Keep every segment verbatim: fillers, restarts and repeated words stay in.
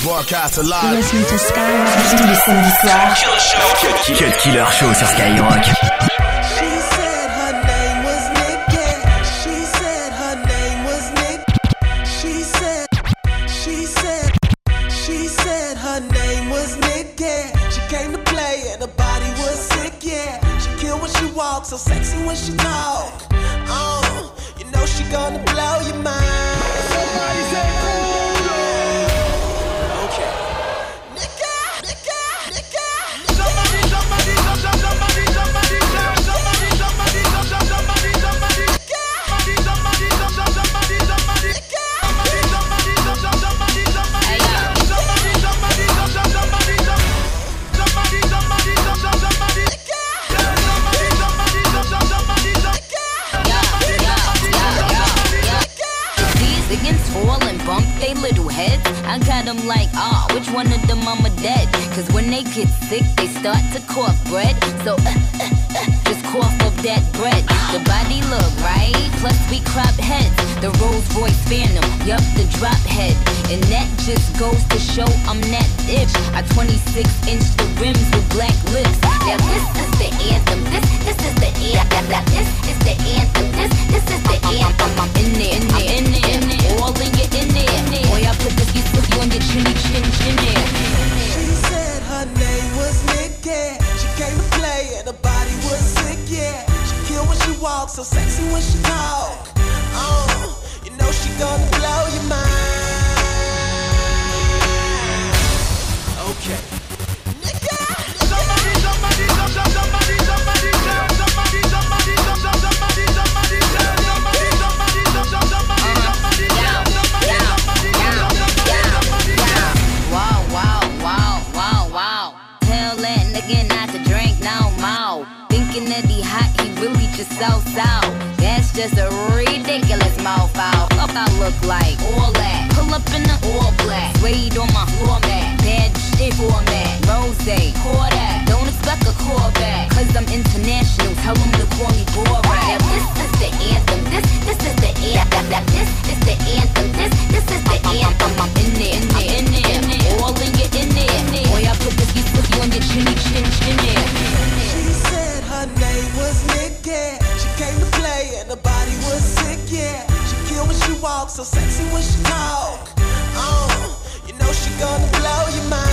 Broadcast alive. Listen to Skyrock tous les samedis soirs. Cut, cut Killer Show sur Skyrock. So sexy when she talk. Oh, you know she gonna blow your mind. Somebody say okay. Nigga, nigga, nigga. Somebody, somebody, somebody, somebody, somebody, somebody, somebody, somebody, somebody, somebody. Somebody, somebody, somebody, somebody, somebody. Somebody, somebody, somebody, somebody, somebody. Somebody, somebody, somebody, somebody, somebody, somebody, somebody. Against tall and bump they little heads. I got them like, ah, oh, which one of them I'm a dead? Cause when they get sick, they start to cough bread. So, uh, uh, uh, just cough up that bread. The body look right, plus we crop heads. The Rolls Royce Phantom, yup, the drop head. And that just goes to show I'm that itch. I twenty-six inch the rims with black lips. Now this is the anthem, this, this is the anthem. This is the anthem, this, this is the anthem. I'm in there, in there, in there, in there. All in your in there. Boy, I put this you on your chinny chin chin there. She said her name was Nikki. She came to play and her body was sick, yeah. She kill when she walks, so sexy when she talk. Oh, you know she gonna blow your mind. Okay. Nigga, somebody, somebody, somebody, somebody, somebody, somebody, somebody, somebody, somebody, somebody, Wow, wow, wow, wow, wow. Tell that nigga not to drink no more. Thinking that he hot, he really just so so. That's just a ridiculous mouth out. What I look like? All that. Pull up in the all black. Suede on my floor mat. Bad shit format. Rose, pour that. Don't expect a call back. Cause I'm international. Tell them to call me Borat. Now this is the anthem. This, this is the anthem. This is the anthem. This, this is the anthem. I'm in there, in there, in there, in there. All in your in there, in there. Boy, I put this you cookie on your chinny chin chin there. She said her name was Nikki. She came to play and her body was sick, yeah. She kill when she walks, so sexy when she talk. Oh, you know she gonna blow your mind.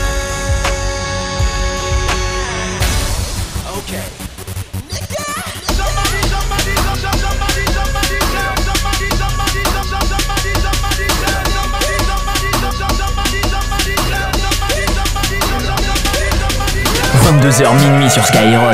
Okay. Nigga, somebody, somebody, somebody, somebody, somebody, somebody, somebody, somebody, somebody, somebody, somebody, somebody, somebody, vingt-deux heures minuit sur Skyrock.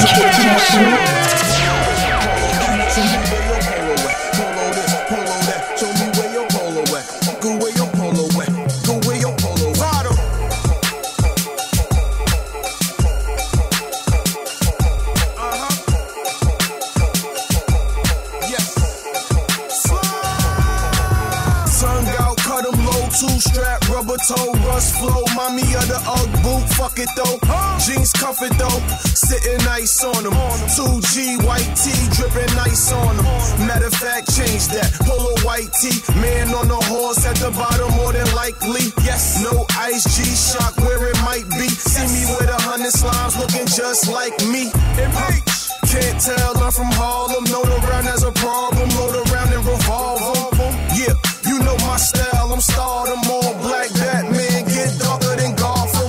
Two-strap, rubber toe, rust flow. Mommy of the Ugg boot, fuck it though. Jeans comfort though, sitting nice on them. two G white tee, dripping nice on them. Matter of fact, change that. Polo white tee, man on the horse at the bottom, more than likely. Yes, no ice, G-Shock where it might be. See me with a hundred slimes looking just like me. Can't tell, I'm from Harlem. Known around as a problem, load around and revolve 'em. Yeah, you know my style, I'm stardom. All black Batman, get darker than Gotham.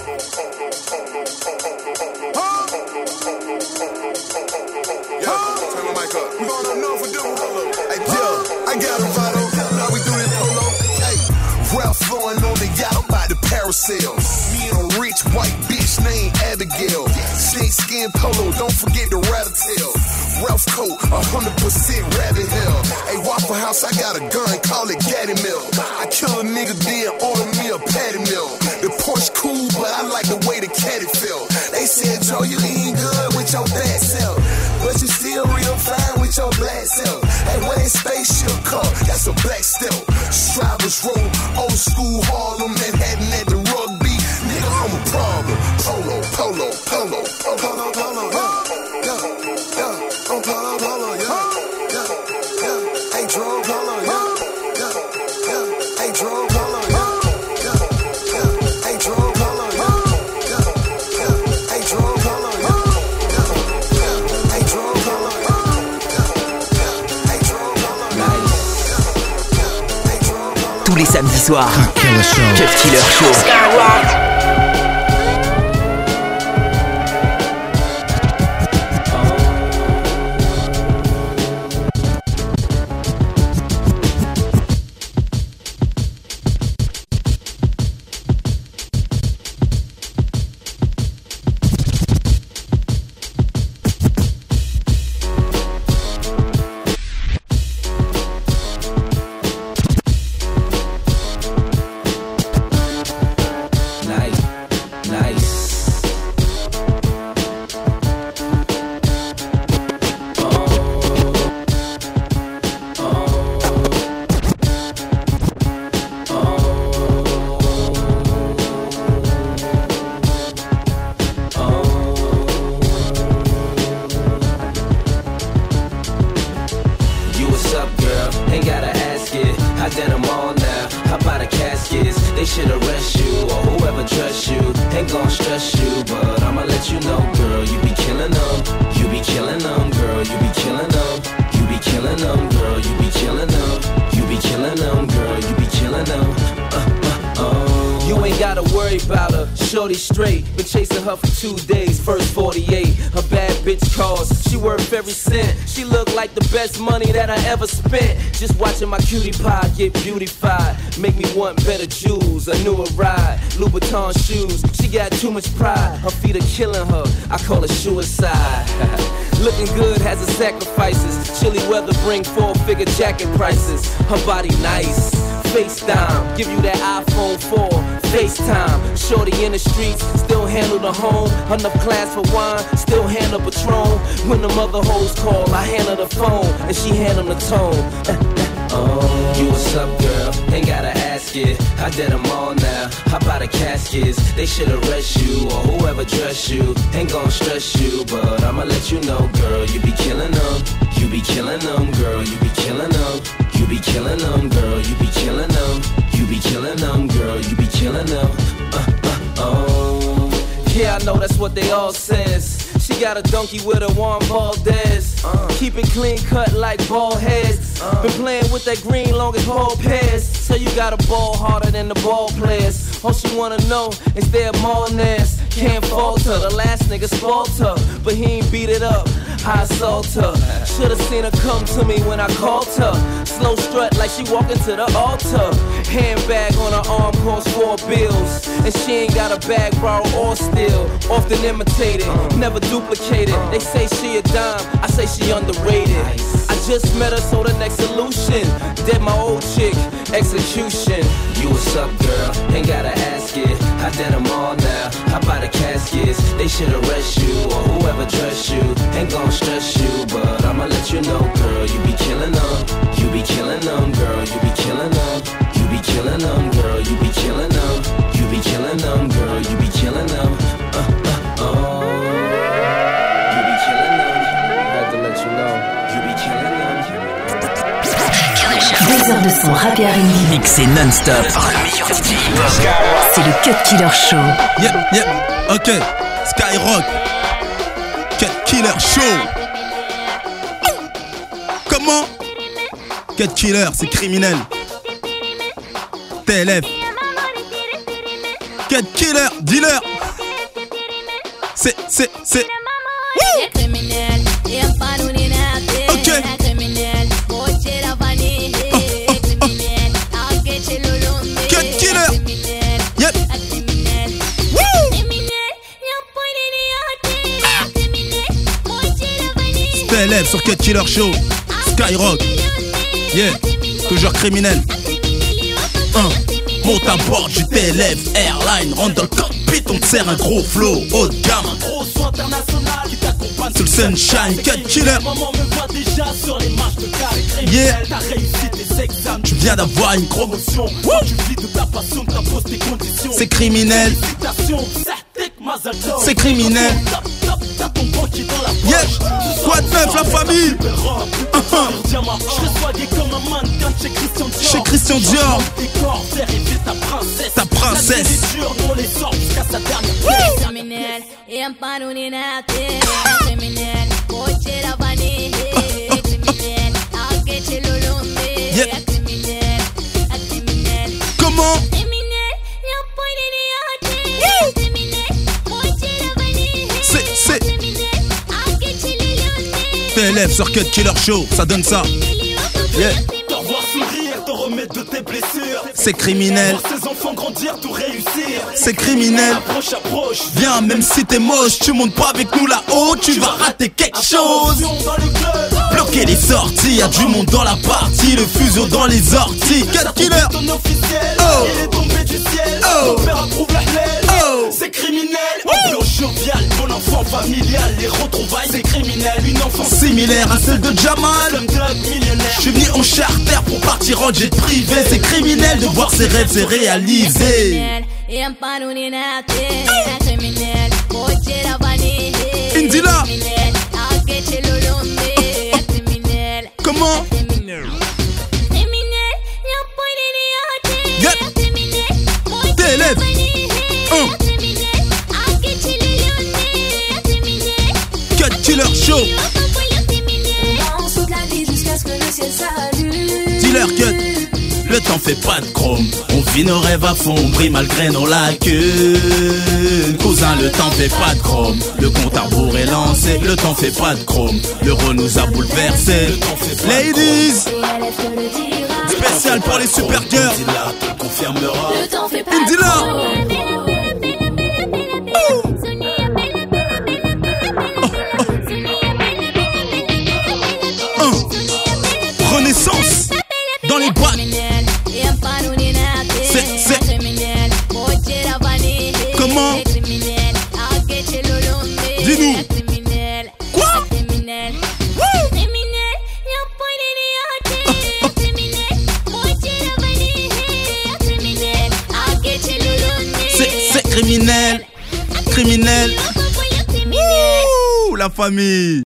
Huh? Huh? Turn the mic up. We gonna know for doing polo. Hey, yeah, I got a bottle. Now we do this polo. Hey, Ralph flowing on the yacht, I'm about to parasail. Me and a rich white bitch named Abigail. Snake skin polo, don't forget the rabbit tail. Ralph coat, one hundred percent rabbit hell. Hey, Waffle House, I got a gun, call it Gaddy Mill. I kill a nigga, then order me a patty mill. The Porsche cool, but I like the way the caddy feel. They said, Joe, you ain't good with your bad self, but you still real fine with your black self. Hey, where that spaceship car, that's a black stealth. Strivers roll, old school Harlem, Manhattan at the rugby. Nigga, I'm a problem. Polo, polo, polo, polo, polo, polo, yeah, yeah, yeah. I'm polo, polo, yeah, yeah, yeah. Hey, drone polo, yeah, yeah, yeah. Hey, drone polo, yeah, yeah, samedi soir. Cut Killer Show. Cut Killer Show. Skyrock. Shorty straight, been chasing her for two days, first forty-eight. Her bad bitch calls, she worth every cent. She look like the best money that I ever spent. Just watching my cutie pie get beautified, make me want better jewels, a newer ride, Louboutin shoes. She got too much pride, her feet are killing her, I call it suicide. Looking good has its sacrifices, chilly weather bring four-figure jacket prices. Her body nice, FaceTime, give you that iPhone four, FaceTime. Shorty in the streets, still handle the home. Enough class for wine, still handle Patron. When the mother hoes call, I handle the phone, and she handle the tone. Oh, you what's up, girl? Ain't gotta ask it. I did them all now. How about the caskets? They should arrest you, or whoever dressed you. Ain't gon' stress you, but I'ma let you know, girl. You be killing them. You be killing them, girl. You be killing them. You be killing them, girl. You be killing them. You be killing them, girl. You be killing them. Uh, uh, oh. Yeah, I know that's what they all says. She got a donkey with a Juan Valdez. Uh. Keep it clean cut like ball heads. Uh. Been playing with that green long as ball pairs. So you got a ball harder than the ball players. All she wanna know is their mallness. Can't falter, the last nigga spoiled her, but he ain't beat it up. I assault her. Should've seen her come to me when I called her. Slow strut like she walking to the altar. Handbag on her arm costs four bills, and she ain't got a bag borrowed or steal. Often imitated, never duplicated. They say she a dime, I say she underrated. I just met her, so the next solution. Dead my old chick, execution. You what's up, girl? Ain't gotta ask it. I did them all now. How about the caskets? They should arrest you, or whoever dressed you. Ain't gon' stress you, but I'ma let you know, girl. You be killing them. You be killing them, girl. You be killing them. You be killing them, girl. You be killing them. You be killing them, girl. You be killing them. Uh, uh, oh. You be killing them. Had to let you know. You be killing them. Deux heures de son rap et R and B mixé non-stop. C'est le Cut Killer Show. Yep, yep, ok. Skyrock. Cut Killer Show. Comment? Cut Killer, c'est criminel. T L F. Cut Killer, dealer. C'est, c'est, c'est. Ok. Cut Killer. Yep. T L F sur Cut Killer Show. Skyrock. Yeah. Toujours criminel. Un. Monte à bord du T L F Airline. Rentre dans le cockpit, on te sert un gros flow haut de gamme. Un gros son international qui t'accompagne sur le sunshine. Cut Killer. Maman me voit déjà sur les marches de carré. Yeah. T'as réussi tes examens. Tu viens d'avoir une promotion. Tu vis de ta passion, t'imposes tes conditions. C'est criminel. C'est criminel. Yeah. Quoi de neuf la famille? Chez Christian Dior. Ta princesse. Yeah. T L F sur Cut Killer Show, ça donne ça. Yeah. Te revoir sourire, te remettre de tes blessures. C'est criminel. Voir ses enfants grandir, tout réussir. C'est criminel. Approche, approche. Viens, même si t'es moche, tu montes pas avec nous là-haut, tu vas rater quelque chose. Dans le club. Bloquer les sorties, y'a du monde dans la partie, le fuseau dans les orties. Cut Killer. Ton officiel, Oh. il est tombé du ciel. Oh. Ton père approuve la haine. Oh. C'est criminel. Ambiance joviale, bon enfant familial. Les retrouvailles, c'est criminel. Une enfance Similaire à celle de Jamal. comme Doug millionnaire. Je suis venu en charter pour partir en jet privé. C'est criminel de voir ses rêves se réaliser. Indila. Comment? Yep. T L F. Un. Cut Killer Show. Dealer Cut. Le temps fait pas de chrome, on vit nos rêves à fond, brille malgré nos lacunes. Cousin, le temps fait pas de chrome, le compte à rebours est lancé. Le temps fait pas de chrome, l'euro nous a bouleversé. Ladies, spécial pour les super girls. Indila te le confirmera. Indila. Renaissance dans les boîtes. C'est, c'est. Comment? Dis-nous. Quoi? C'est, c'est criminel. Criminel. Ouh, la famille.